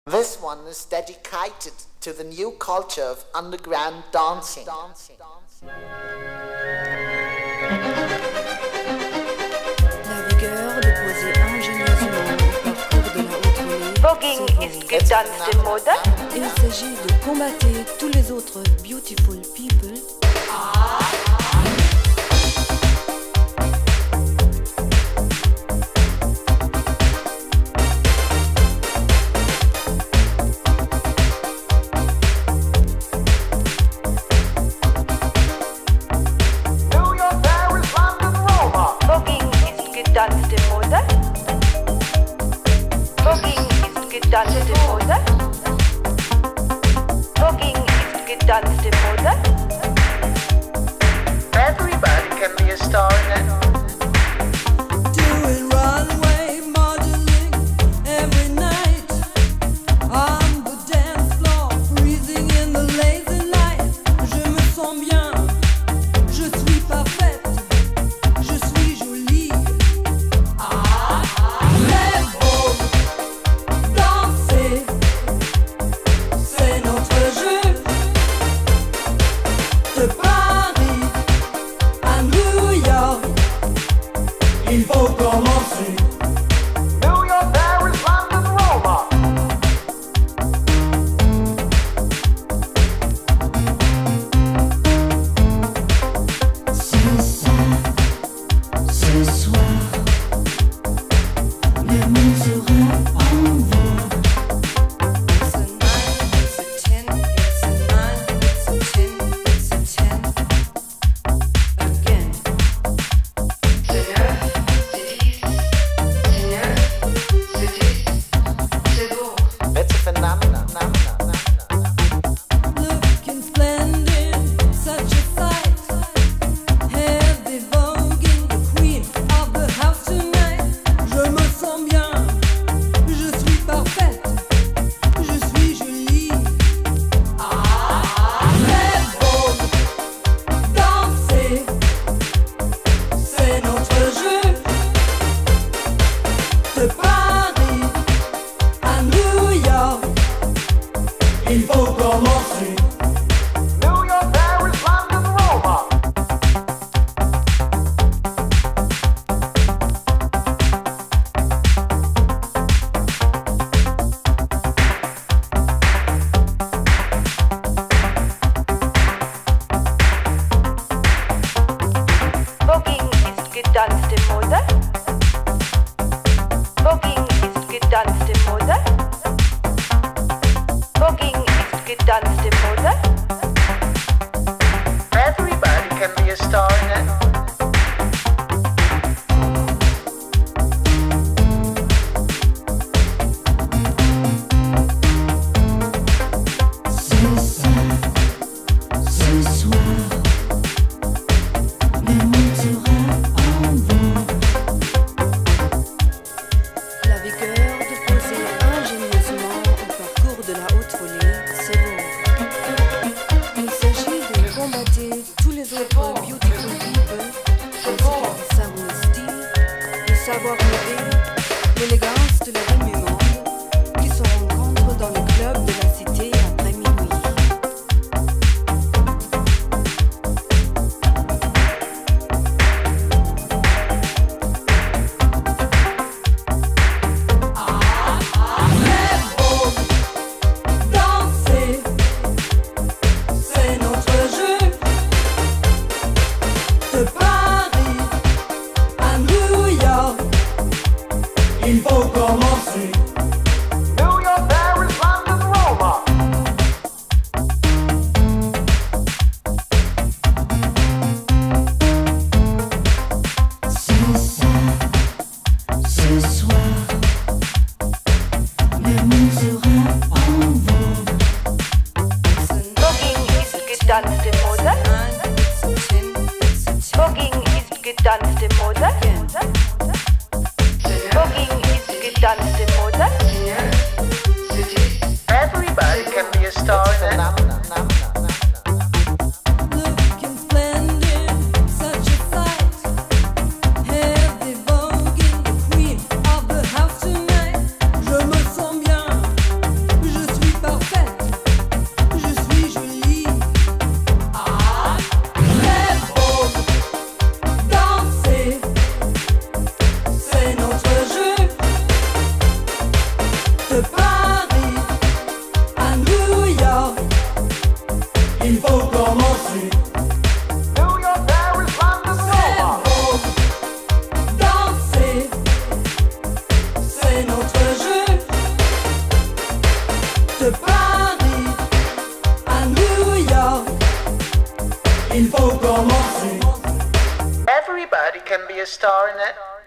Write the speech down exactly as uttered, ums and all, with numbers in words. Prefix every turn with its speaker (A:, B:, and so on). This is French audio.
A: This one is dedicated to the new culture of underground dancing.
B: La vigueur de poser ingénieusement au parcours de la haute volée.
C: Voguing ist getanzte Mode.
B: Il s'agit de combattre tous les autres beautiful people.
C: Getanzte Mode. Voguing ist getanzte Mode. Voguing ist getanzte Mode.
A: Everybody can be a star in it.
D: Doing runway modeling every night on the dance floor, freezing in the lazy light. Je me sens bien, je suis parfaite, je suis jolie. C'est beau, danser, c'est notre jeu. De Paris à New York, il faut commencer.
A: New York, Paris, London, Roma.
D: Ce soir, ce soir, le monde sera en vogue.
B: It's a nine, it's a ten, it's a nine, it's a ten, it's a ten. Again.
E: C'est neuf, c'est dix, c'est neuf, c'est dix, c'est beau.
A: It's a phenomenon.
D: Looking splendid, such a sight. Heavy voguing, the queen of the house tonight. Je me sens bien, je suis parfaite, je suis jolie. C'est beau, danser, c'est notre jeu. De Paris à New York, il faut commencer.
A: New York, Paris, London, Roma.
C: Voguing ist getanzte Mode. Voguing ist getanzte Mode. Voguing ist getanzte Mode.
A: Everybody can be a star in it.
D: Ce soir, ce soir, le monde sera en vogue.
B: La vigueur de poser ingénieusement au parcours de la haute volée, c'est beau. Il s'agit de combattre tous les autres beautiful people, ainsi qu'ils savent le style, le savoir-vivre, l'élégance de la vie du monde, qui se rencontrent dans les clubs de la cité après minuit.
D: C'est beau, danser, c'est notre jeu. De Paris à New York, il faut commencer.
A: New York, Paris, London, Roma.
D: Ce soir, ce soir, le monde sera en vogue.
C: Voguing ist getanzte Mode. Voguing ist getanzte Mode. Voguing ist getanzte Mode.
E: C'est neuf, c'est dix,
A: Everybody can be a star in it.
D: Looking splendid, such a sight. Heavy voguing, the queen of the house tonight. Je me sens bien, Paris, à New York, il faut commencer.
A: Everybody can be a star in it.